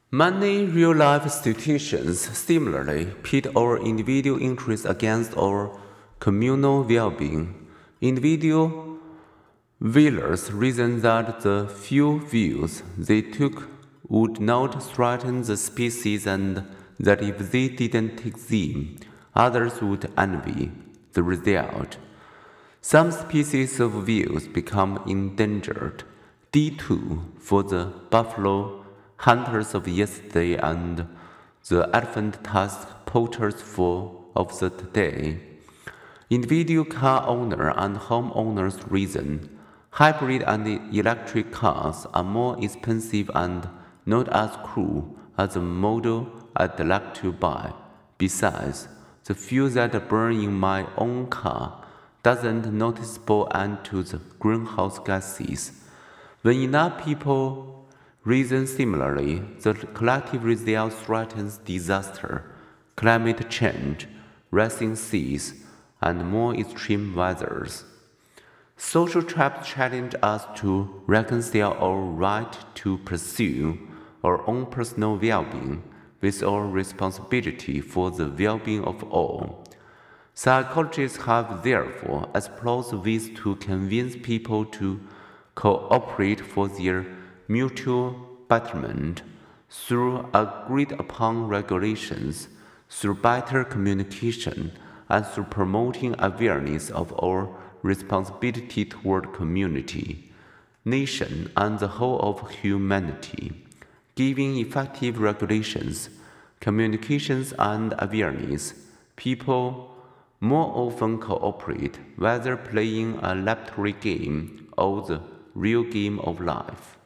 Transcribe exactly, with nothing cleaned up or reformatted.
Many real-life situations similarly pit our individual interests against our communal well-being. Individual whalers reason that the few views they took would not threaten the species and that if they didn't take them, others would envy the result. Some species of whales become endangered. D two for the buffalo hunters of yesterday and the elephant tusk poachers for of the today. Individual car owner and homeowners reason hybrid and electric cars are more expensive and not as cool as the model I'd like to buy. Besides, the fuel that burns in my own car doesn't noticeable add to the greenhouse gases. When enough people reason similarly, the collective result threatens disaster, climate change, rising seas, and more extreme weathers. Social traps challenge us to reconcile our right to pursue our own personal well-being with our responsibility for the well-being of all. Psychologists have therefore explored ways to convince people to cooperate for their mutual betterment through agreed-upon regulations, through better communication, and through promoting awareness of our responsibility toward community, nation, and the whole of humanity. Giving effective regulations, communications, and awareness, people more often cooperate, whether playing a laboratory game or the real game of life.